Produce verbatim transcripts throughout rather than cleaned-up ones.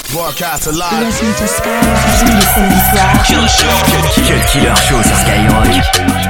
Broadcast alive. Listen to Skyrock tous les samedis soirs. Killer Show. Cut Killer Show sur Skyrock.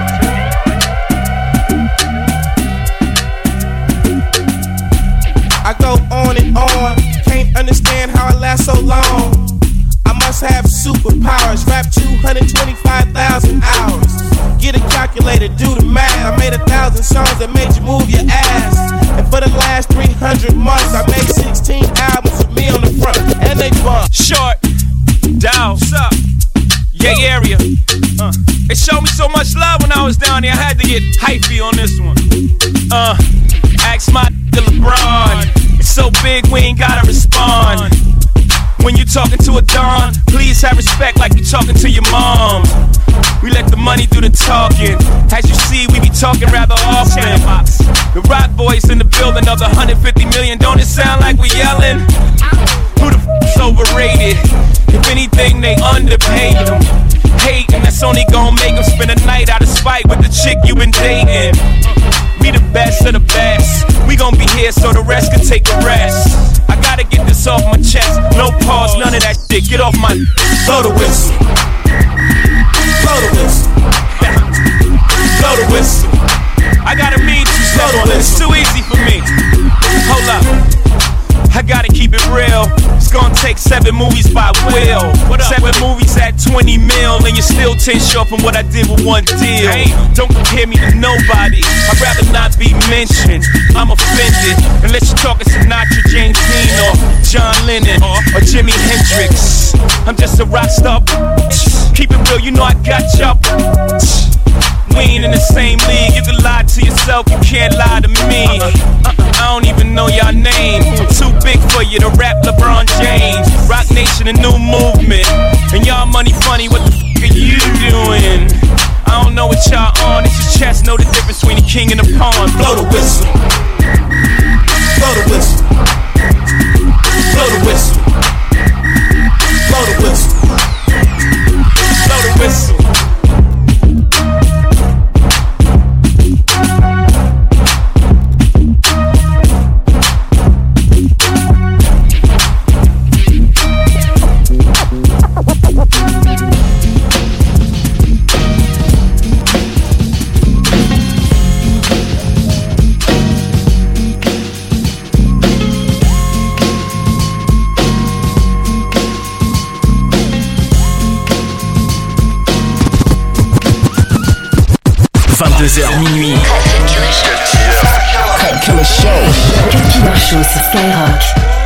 I go on and on, can't understand how I last so long. I must have superpowers, rap two hundred twenty-five thousand hours. Get a calculator, do the math. I made a thousand songs that made you move your ass. And for the last three hundred months, I made sixteen albums with me on the front, and they bump. Short, down, what's up? Yeah, area. Uh, they showed me so much love when I was down there. I had to get hypey on this one. Uh, ask my LeBron. It's so big we ain't gotta respond. When you talking to a Don, please have respect like you talking to your mom. We let the money do the talking. As you see, we be talking rather often. The Rock Boys in the building of the one hundred fifty million. Don't it sound like we yelling? Who the f***'s overrated? If anything, they underpaid them. Hating, that's only gonna make them spend a night out of spite with the chick you been dating. We the best of the best. We gon' be here so the rest can take a rest. I gotta get this off my chest. No pause, none of that shit. Get off my. Blow the whistle. Blow the whistle. Blow the whistle. I gotta meet you, slow the whistle. It's too easy for me. Hold up. I gotta keep it real. It's gonna take seven movies by Will. Seven movies at twenty mil, and you're still ten short from what I did with one deal. Don't compare me to nobody. I'd rather not be mentioned. I'm offended unless you're talking Sinatra, James Dean, or John Lennon, or Jimi Hendrix. I'm just a rock star. Keep it real, you know I got y'all. We ain't in the same league. You can lie to yourself, you can't lie to me. uh-uh, I don't even know y'all name. I'm too big for you to rap LeBron James. Rock Nation, a new movement. And y'all money funny, what the f*** are you doing? I don't know what y'all on. It's just chess, know the difference between the king and the pawn. Blow the whistle. Blow the whistle. Blow the whistle. Blow the whistle. Blow the whistle. vingt-deux heures minuit. Cut Killer Show. Cut Killer Show sur Skyrock.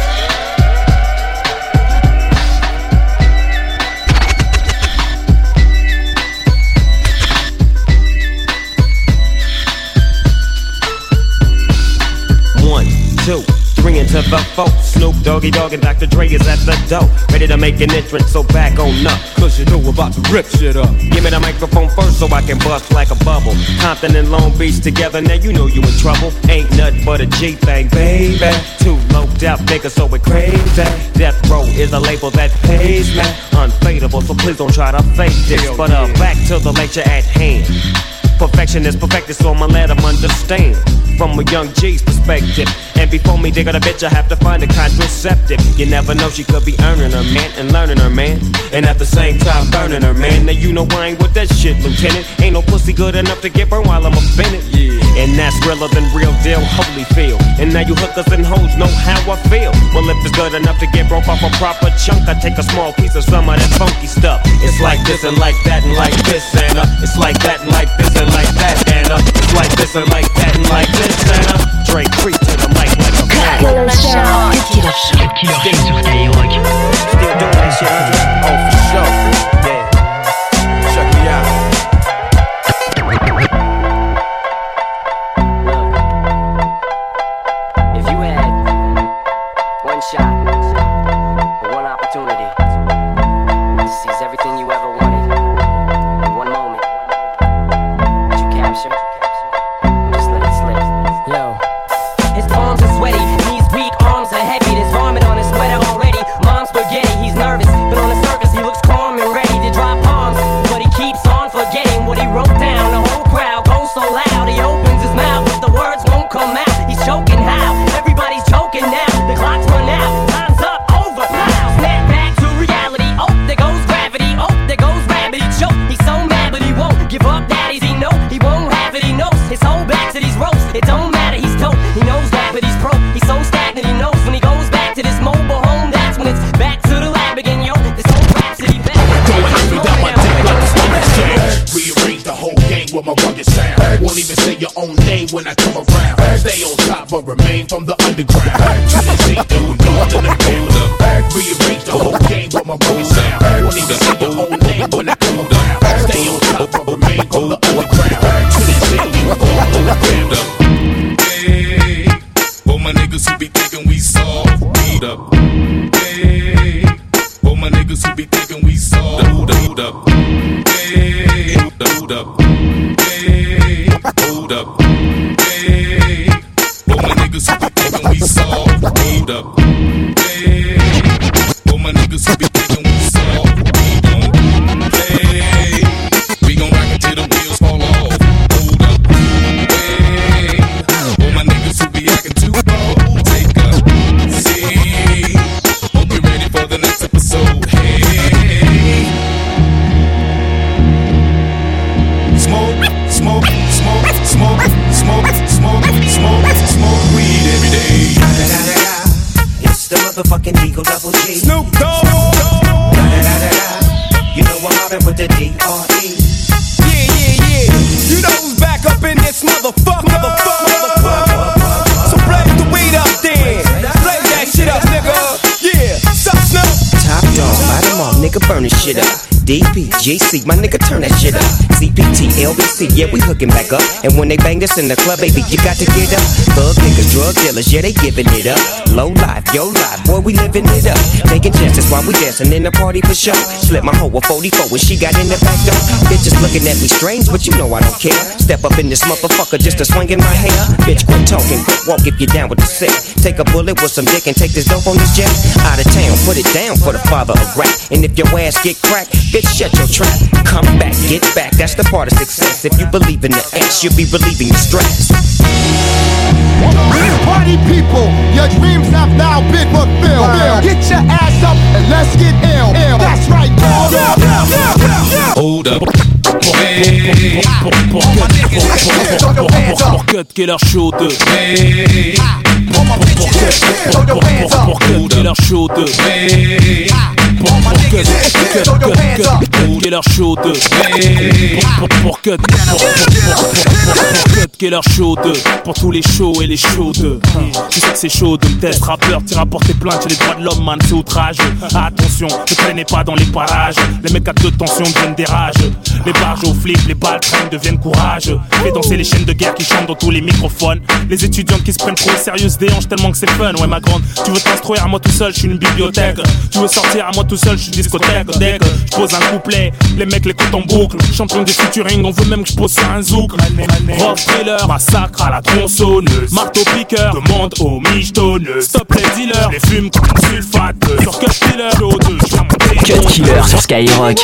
One, two, three into the four. Snoop Doggy Dogg and Doctor Dre is at the door, ready to make an entrance, so back on up. Cause you know we're about to rip shit up. Give me the microphone first so I can bust like a bubble. Compton and Long Beach together, now you know you in trouble. Ain't nothing but a G thing, baby. Too low death niggas, so it crazy. Death Row is a label that pays me. Unfadable, so please don't try to fake this. But uh, back to the lecture at hand. Perfection is perfected, so I'ma let them understand from a young G's perspective. And before me dig on a bitch, I have to find a contraceptive. You never know, she could be earning her man and learning her man, and at the same time burning her man. Now you know I ain't with that shit, Lieutenant. Ain't no pussy good enough to get burned while I'm offended. Yeah. And that's realer than real deal, Holyfield. And now you hookers and hoes know how I feel. Well, if it's good enough to get broke off a proper chunk, I take a small piece of some of that funky stuff. It's like this and like that and like this and uh, it's like that and like this and like that and uh, it's like this and like that and like this and uh, Drake creep to the mic like a man. Killer Show. Cut Killer Show. Cut Killer Show sur Skyrock. Still doing that shit, huh? Oh, for sure. Yeah. Check me out. If you had one shot or one opportunity to seize everything you ever wanted in one moment, would you capture? Just let it slip. Yo. His palms are sweaty, knees weak, arms are heavy. There's vomit on his sweater. with my rugged sound. Won't even say your own name when I come around. Stay on top but remain from the underground. To the Z, we north in the build-up. Rearrange the whole game with my rugged sound. Won't even say your own name when I come around. Stay on top but remain from the underground. To the Z, we north in the build-up. Hey, for my niggas who be thinking we soft, beat up. Hey, for my niggas who be thinking we soft, hold up, hold up. Hey, hold up, hey, hold up. Hey, for my niggas who be thinking we soft, hold up. Hey, for my niggas who be thinking we soft, beat up. Hey, we gon' rock until the wheels fall off. Hold up. Hey, for my niggas who be acting too bold, take a seat. Hope you're ready for the next episode. Hey, smoke, smoke, smoke, smoke, smoke, smoke, smoke, smoke weed every day. Da, da, da, da. It's the motherfucking Eagle Double G. Snoop Dogg. Da, da, da, da, da. You know I'm mobbing with the D R E. Yeah, yeah, yeah. You know who's back up in this motherfucker. Motherfucker, motherfucker. So blaze the weed up then. Blaze that shit up, nigga. Yeah. Sup, Snoop? Top dog, light 'em off, nigga, burn this shit up. D P, G C, my nigga, turn that shit up. C P T, L B C, yeah, we hooking back up. And when they bang this in the club, baby, you got to get up. Thug niggas, drug dealers, yeah, they giving it up. Low life, yo life, boy, we living it up. Taking chances while we dancing in the party for sure. Slip my hoe a forty-four when she got in the back door. Bitches looking at me strange, but you know I don't care. Step up in this motherfucker just to swing in my hair. Bitch, quit talking, quit walk if you down with the sick. Take a bullet with some dick and take this dope on this jet. Out of town, put it down for the father of rap. And if your ass get cracked, bitch, shut your trap. Come back, get back, that's the part of success. If you believe in the ass, you'll be relieving your stress. Party people, your dreams have now been fulfilled. Get your ass up and let's get ill. Ill. That's right, boy. Hold up. Pour Cut Killer Show deux. Pour Cut Killer Show deux. Pour Cut Killer Show deux. Pour Cut Killer Show deux. Pour tous les shows et les shows de. Tu sais que c'est chaud de me test rappeur, t'iras porter plainte chez les droits de l'homme, man, c'est outrageux. Attention, ne traînez pas dans les parages. Les mecs à deux tensions deviennent des rages. Les barges aux flics, les balles traînent, deviennent courageux. Fais danser les chaînes de guerre qui chantent dans tous les microphones. Les étudiantes qui se prennent trop au sérieux se déhanchent tellement que c'est fun. Ouais, ma grande, tu veux t'instruire à moi tout seul, je suis une bibliothèque. Tu veux sortir à moi tout seul, je suis une discothèque. Dès que je pose un couplet, les mecs l'écoutent en boucle. Champion du featuring, on veut même que je pose sur un zouk. Rock thriller, massacre à la tronçonneuse. Marteau piqueur, demande aux michetonneuses. Stop les dealers, les fumes comme sulfate. Sur Cut Killer, Show deux, je vais monter. Cut Killer sur Skyrock.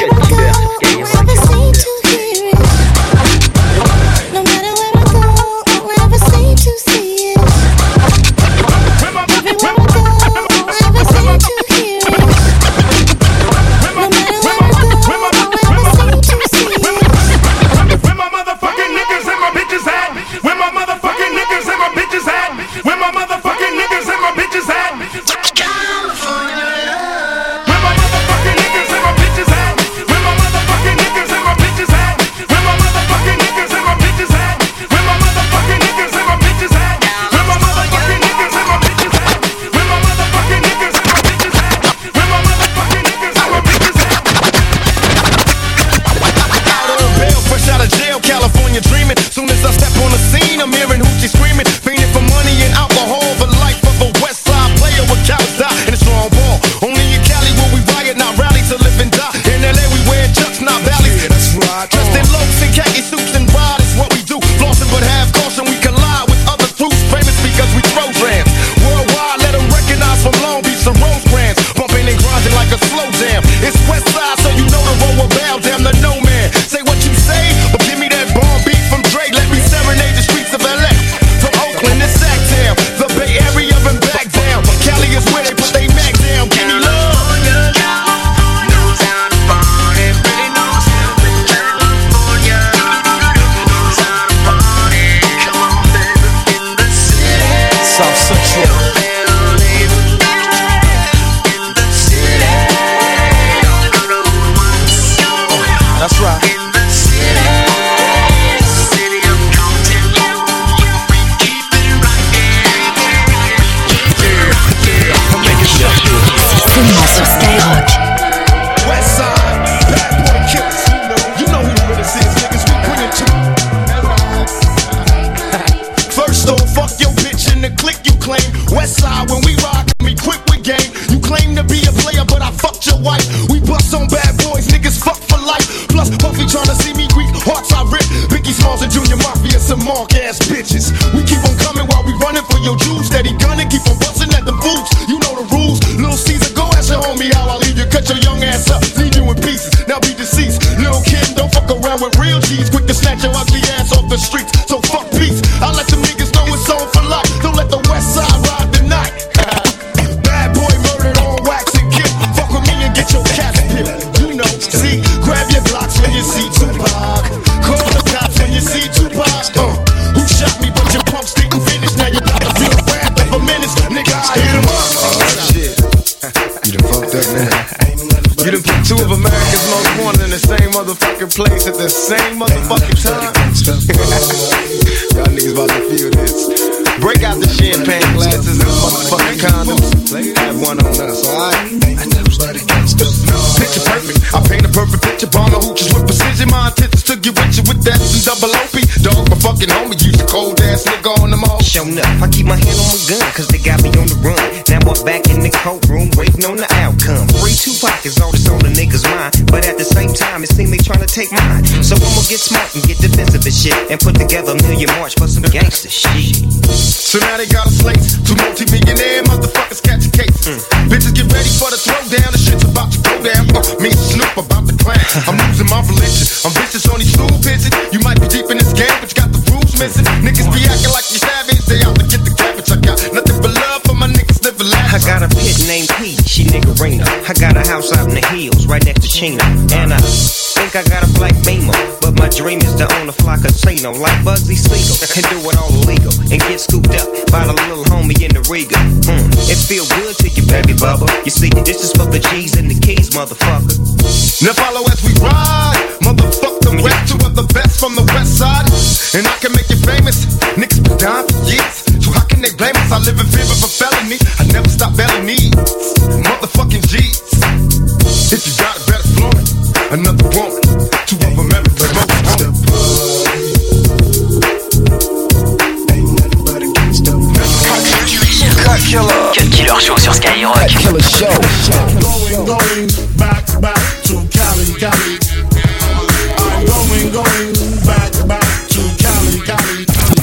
Where my motherfucking niggas and my bitches at? Boss and Junior Mafia, some mark ass bitches. We keep on coming while we running for your Jews. Steady gunning, keep on busting at the boots. You know the rules. Little Caesar, go ask your homie how I leave you. Cut your young ass up, leave you in pieces. Now be deceased. Little kid, don't fuck around with real G's. Quick to snatch your ugly ass off the streets. So fuck peace. I let them niggas know it's on for life. Don't let the West Side ride the night. Bad boy murdered on wax and kill. Fuck with me and get your cats peeled. You know, see, grab your blocks when you see Tupac. Call the cops when you see Tupac. Uh, who shot me but your pumps didn't finish. Now you got to feel wrapped up a minute. Nigga, I hit him up. Oh shit. You done fucked up now. You done put two of America's most wanted in the same motherfucking place at the same motherfucking time. Y'all niggas about to feel this. Break out the champagne glasses and motherfucking condoms. Have one on us, alright? Picture perfect. I paint a perfect picture. Bomb the hoochies with precision. My intentions to get with you with that and double O P. Dog, my fucking homie. Use a cold ass nigga on them all. Show enough. I keep my hand on my gun, cause they got me on the run. Now I'm back in the courtroom, waiting on the outcome. Free Tupac is all that's on the niggas' mind. But at the same time, it seems they trying to take mine. So I'ma get smart and get defensive and shit. And put together a million march for some gangster shit. So now they got a slate. Two multi-millionaire motherfuckers catch a case. Mm. Bitches get ready for the throwdown. The shit's about to go down. Uh, me and Snoop about to clown. I'm losing my religion. I'm vicious on these stool pigeons. You might be deep in this game, but you got the rules missing. Niggas be acting like you savage. They out to get the cabbage. I got nothing but love for my niggas living life. I got a pit named P, she niggerina. I got a house out in the hills, right next to Chino. And I think I got a black Beamer, but my dream is to own a fly casino like Bugsy Siegel and do it all illegal and get scooped up by the little homie in the Riga. Mm, it feel good to you, baby bubba. You see, this is for the G's and the keys, motherfucker. Now follow as we ride, motherfuck the rap. Two of the best from the west side, and I can make you famous. Niggas been down for years, so how can they blame us? I live in fear of a felony. I never stop belly needs, motherfucking G's. If you got it, better flaunt it. Another woman, two of America's most wanted. Cut Killer. Cut Killer Show sur Skyrock. Cut Killer Show. Going, going back, back to Cali, Cali. I'm going, going back, back to Cali, Cali.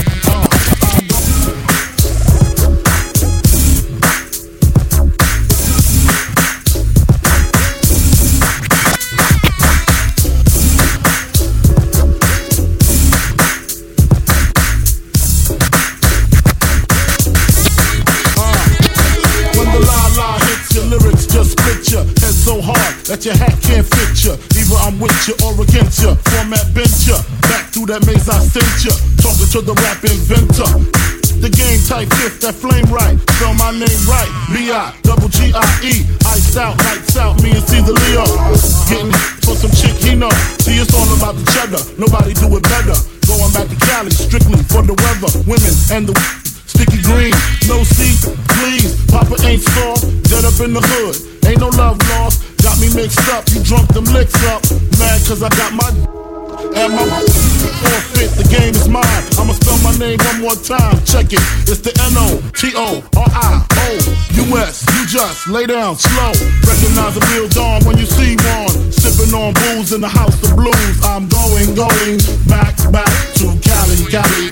So hard that your hat can't fit ya. Either I'm with ya or against ya. Format bent ya. Back through that maze I sent ya. Talking to the rap inventor. The game type fifth, that flame right. Spell my name right. B I double G I E. Iced out, lights out. Me and Caesar Leo. Getting for some chick he know. See, it's all about the cheddar. Nobody do it better. Going back to Cali strictly for the weather, women and the sticky green. No seat, please. Papa ain't soft. Dead up in the hood. Ain't no love lost, got me mixed up, you drunk them licks up. Mad cause I got my and my forfeit, the game is mine. I'ma spell my name one more time, check it. It's the N O T O R I O U S. You just lay down slow. Recognize a real dawn when you see one. Sipping on booze in the house of blues. I'm going, going back, back to Cali, Cali.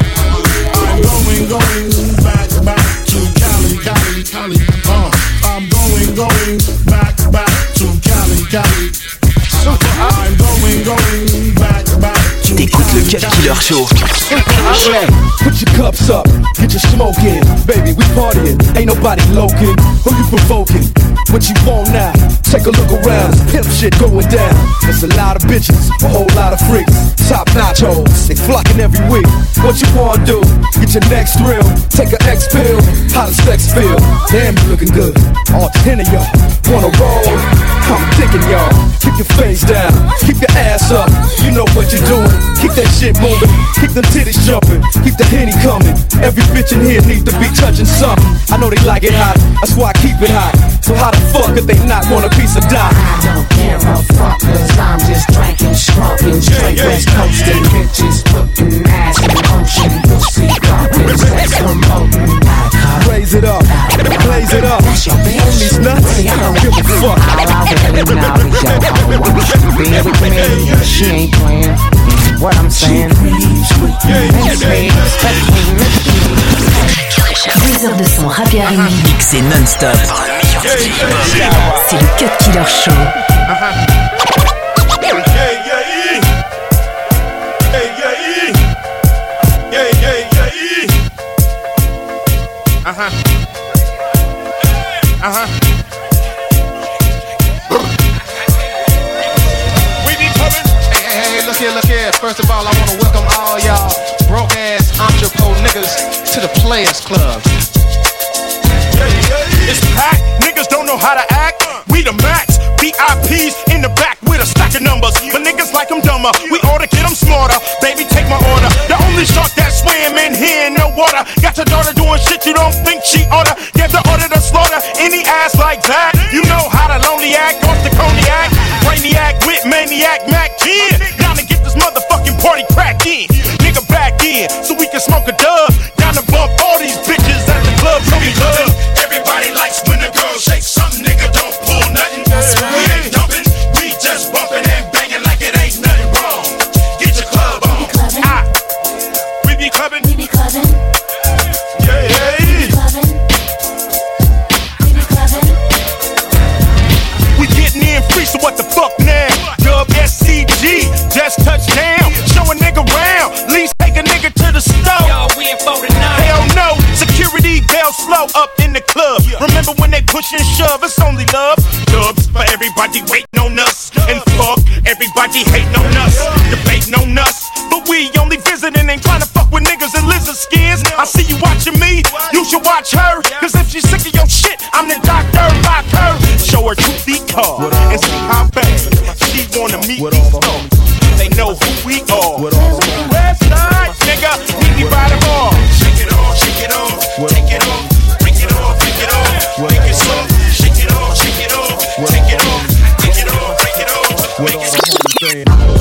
I'm going, going back, back to Cali, Cali, Cali. Uh. I'm going, going back, back to Cali, Cali. I'm going, going back, back to T'écoutes le Cut Killer Show. Hey, put your cups up, get your smoke in. Baby, we partying, ain't nobody loking. Who you provoking? What you want now? Take a look around, it's pimp shit going down. There's a lot of bitches, a whole lot of freaks. Top notch hoes, they flocking every week. What you wanna do? Get your next thrill. Take an X pill, how does sex feel? Damn, you looking good. All ten of y'all wanna roll? I'm digging y'all. Keep your face down, keep your ass up. You know what you're doing. Keep that shit moving, keep them titties jumping, keep the Henny coming. Every bitch in here needs to be touching something. I know they like it hot, that's why I keep it hot. So how the fuck could they not want a piece of die? I don't care a fuck, cause I'm just drinking, smoking, straight yeah, yeah, west coasting. Yeah, yeah. Bitches putting ass in motion, pussy popping, sex promoting. Raise it up, blaze it up. On these nuts, I don't give a fuck. All I really know is your hoe wants to be with me. She ain't playing, what I'm saying. Deux heures de son rap et R and B mixé non-stop. C'est le Cut Killer Show. Uh-huh. Uh-huh. We be coming. Hey, hey, hey, look here, look here. First of all, I want to welcome all y'all broke ass entrepot niggas to the Players Club. It's packed. Niggas don't know how to act. We the max. V I Ps in the back with a stack of numbers. But niggas like them dumber. We oughta get them smarter. Baby, take my order. The only shark that swim in here in no water. Got your daughter doing shit you don't think she oughta. Give the order to slaughter any ass like that. You know how to lonely act off the cognac. Brainiac with maniac Mac ten. Down to get this motherfucking party cracked in. Nigga back in so we can smoke a dub. Down to bump all these bitches at the club. So we love. Everybody likes when the girl shakes something. Nigga don't pull nothing. We ain't dumping. We just bumping and banging like it ain't nothing wrong. Get your club on. Ah. We be clubbing. We be clubbing. Yeah, yeah. We be clubbing. We be clubbing. We getting in free, so what the fuck now? Dub S C G, just touched down. Show a nigga round. Least take a nigga to the stove. Yo, we in forty-nine. Hell no. Security bell slow up in the club. Remember when they push and shove? It's only love. Dubs for everybody waiting on us. And fuck everybody hating on us. Debating on us. But we only visiting, ain't trying to fuck with niggas in lizard skins. I see you watching me, you should watch her. Cause if she's sick of your shit, I'm the doctor, rock her. Show her two feet card and see how bad she wanna meet these folks. They know who we are. West side, nigga, meet me by the bar. Shake it off, shake it off, take it off, break it off, break it off, make it soft. Shake it off, shake it off, take it off, take it off, break it off, make it soft.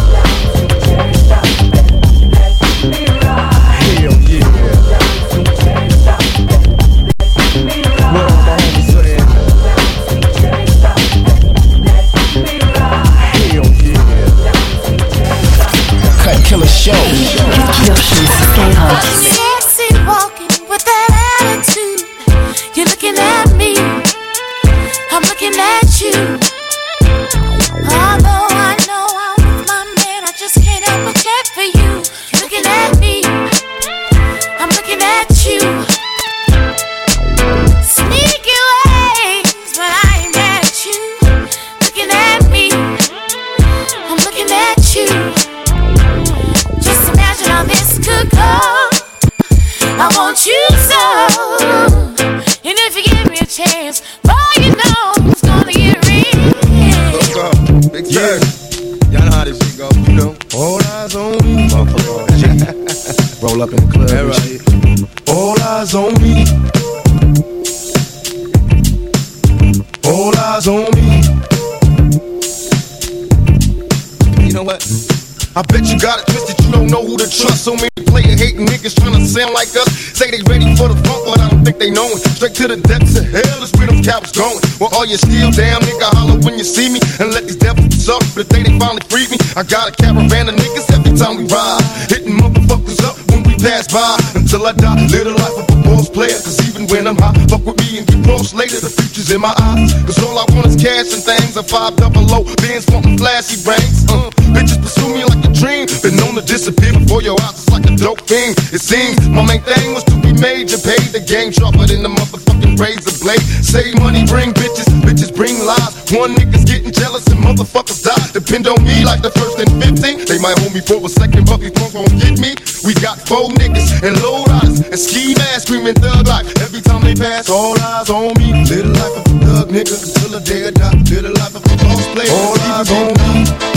Killer Show. Cut Killer Show sur Skyrock. Sexy walking with that attitude. You're looking at me, I'm looking at you. Although I know I'm with my man, I just can't help but check for you. You're looking at me, I'm looking at you. Sneaky ways, but I ain't mad at you. Looking at me, I'm looking at you. Just imagine how this could go. I want you so. And if you give me a chance, boy, you know it's gonna get real. Let's go. Big yeah. Y'all know how this shit go, you know. All eyes on me. Roll up in the club and shit. All eyes on me. All eyes on me. You know what? I bet you got it twisted, you don't know who to trust. So many player hating niggas trying to sound like us. Say they ready for the funk, but I don't think they know it. Straight to the depths of hell is where them cowards going. Well, all you still down, nigga, holler when you see me. And let these devils suck, but the day they finally free me, I got a caravan of niggas every time we ride. Hitting motherfuckers up when we pass by. Until I die, live the life of a boss player. Cause even when I'm high, fuck with me and get close later. The future's in my eyes. Cause all I want is cash and things. A five double low, bands wanting flashy rings. Uh, bitches pursue me like a dream. Been known to disappear before your eyes, it's like a dope fiend. It seems my main thing was to be major. Paid the game sharper than the motherfucking razor blade. Save money, bring bitches, bitches bring lies. One nigga's getting jealous and motherfuckers die. Depend on me like the first and fifteen. They might hold me for a second, but these punks won't get me. We got four niggas and low riders and ski masks screaming thug life. Every time they pass, all eyes on me. Live the life of a thug nigga until the day I die. Live the life of a boss player. All eyes on me.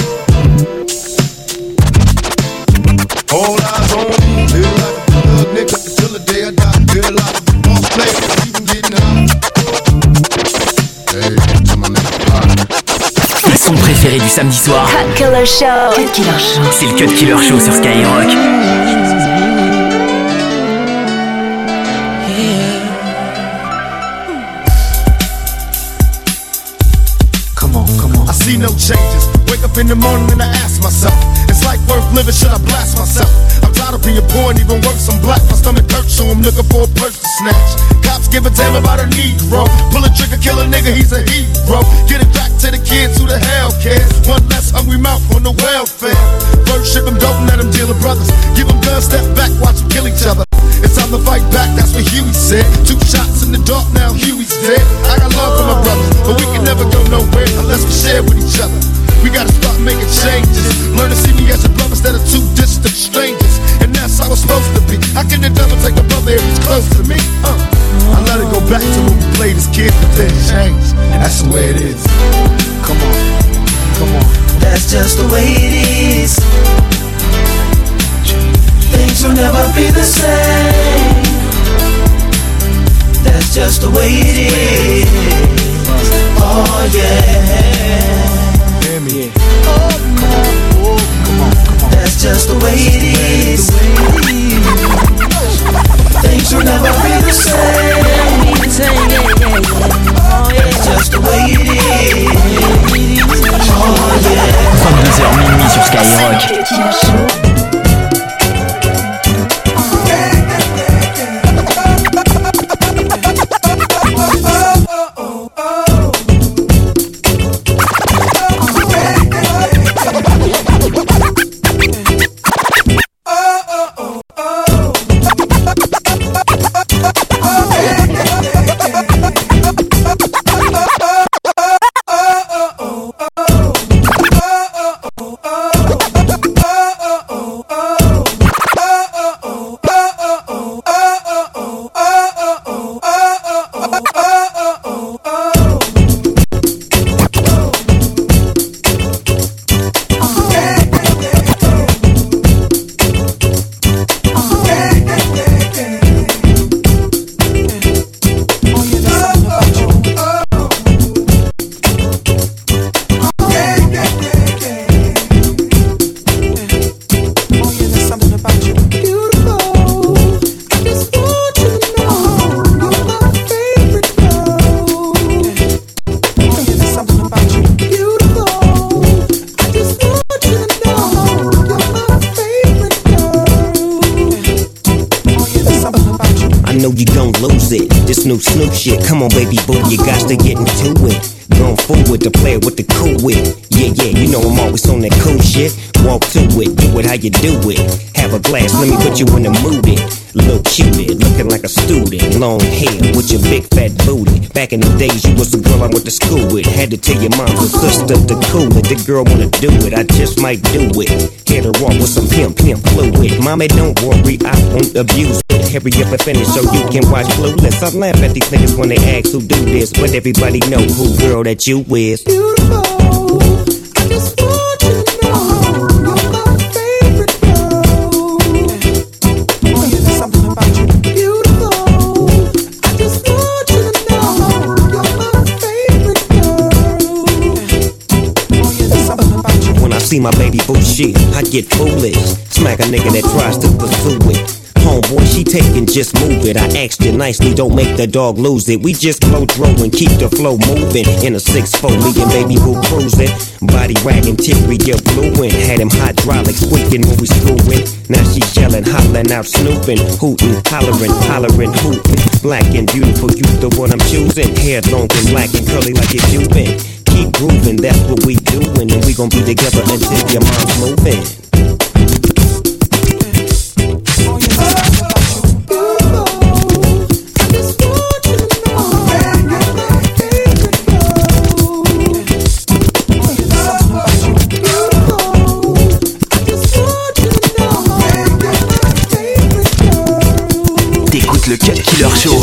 All eyes on me. Live the life of a thug nigga until the day I die. Live the life of a boss player. Even getting high. Hey, to my nigga. Le son préféré du samedi soir. Cut Killer Show. Cut Killer Show. C'est le Cut Killer Show sur Skyrock. I see no changes. Wake up in the morning and I ask myself, it's life worth living, should I blast myself? I'm tired of being wasn't even worse, I'm black, my stomach hurts, so I'm looking for a purse to snatch. Cops give a damn about a Negro. Pull a trigger, kill a nigga, he's a hero. Get it back to the kids who the hell cares. One less hungry mouth on the welfare. First ship them, don't let them deal with brothers. Give them guns, step back, watch them kill each other. It's time to fight back, that's what Huey said. Two shots in the dark, now Huey's dead. I got love for my brothers, but we can never go nowhere unless we share with each other. We gotta start making changes. Learn to see me as a brother instead of two distant strangers. And that's how it's supposed to be. How can the devil take a brother if he's close to me? Uh, I let it go back to when we played as kids, but then change. That's the way it is. Come on, come on. That's just the way it is. Things will never be the same. That's just the way it is. Oh yeah. Hear me. Oh, come on, oh, come on, come on. That's just the way it is. Things will never be the same. That's just the way it is. Oh yeah. trente-deux heures minuit sur Skyrock. Snoop Snoop shit, come on baby boo, you got to get into it. Going forward to play it with the cool wit. Yeah, yeah, you know I'm always on that cool shit. Walk to it, do it how you do it. Have a glass, let me put you in the mood. It little cutie, looking like a student. Long hair with your big fat booty. Back in the days, you was the girl I went to school with. Had to tell your mom or sister to cool it. The girl wanna do it, I just might do it. Hit her off with some pimp, pimp fluid. Mommy, don't worry, I won't abuse it. Hurry up and finish so you can watch Clueless. I laugh at these niggas when they ask who do this, but everybody know who girl that you is. Beautiful, I just want you to know you're my favorite girl. Oh yeah, there's something about you. Beautiful, I just want you to know you're my favorite girl. Oh yeah, there's something about you. When I see my baby boo shit, I get foolish. Smack a nigga that tries to pursue it. Homeboy, she taking, just move it. I asked you nicely, don't make the dog lose it. We just blow throw and keep the flow moving. In a six four, me and baby boo cruising. Body wagging, teary, you're fluent. Had him hydraulic squeaking when we screwing. Now she yelling, hollering out, snooping, hooting, hollering, hollering, hooting. Black and beautiful, you the one I'm choosing. Hair long and black and curly like it's you been. Keep grooving, that's what we doing. And we gon' be together until your mom's moving. Le Cut Killer Show.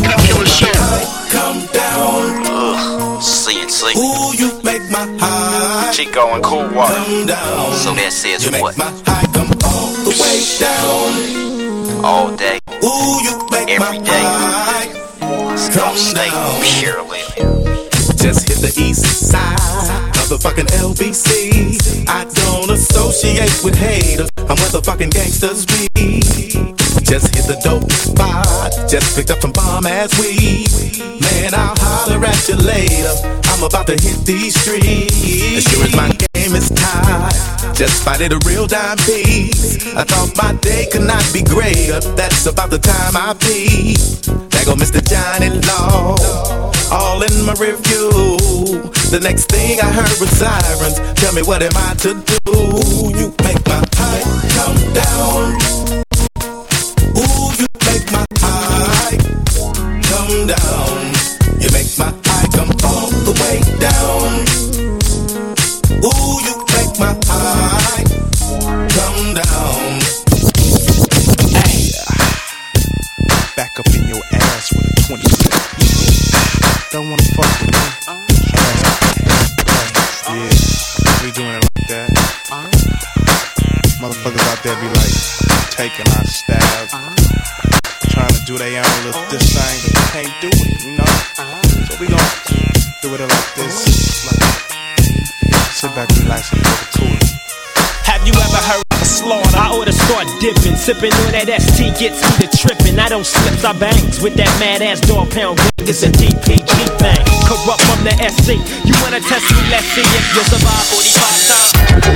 Come down. Ugh, C and C. Ooh, you make my high. Chico and Cool Water. Come down. So that says you what? Make my high come all the way down. All day. Ooh, you make every my day. high. It's gonna stay purely. Just hit the east side of the fucking L B C. I don't associate with haters. I'm where the fucking gangsters be. Just hit the dope spot. Just picked up some bomb ass weed. Man, I'll holler at you later. I'm about to hit these streets. As sure as my game name is Ty. Just spotted a real dime piece. I thought my day could not be greater. That's about the time I pee. There go Mister Johnny Law, all in my review. The next thing I heard was sirens. Tell me what am I to do? You make my eye come down. Ooh, you make my eye come down. You make my eye come all the way down. Ooh, you make my eye come down. Hey, back up in your ass with a twenty-six. Don't wanna fuck with me. Ass, yeah, we doing it like that. Motherfuckers out there be like taking our stab, trying to do their own little this thing, but they can't do it, you know. So we gon' do it like this. Like, sit back, relax, and get cool. Have you ever heard of a slaughter? I oughta start dipping, sipping on that S T gets me to tripping. I don't slips, I bangs with that mad ass dog pound gang. It's a D P G thing, corrupt from the S C. You wanna test me? Let's see if you'll survive forty-five times.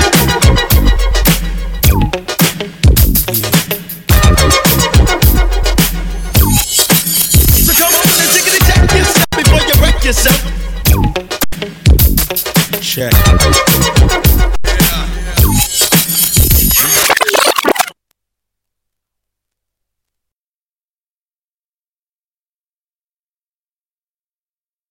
So come on and take it and check yourself before you wreck yourself. Check.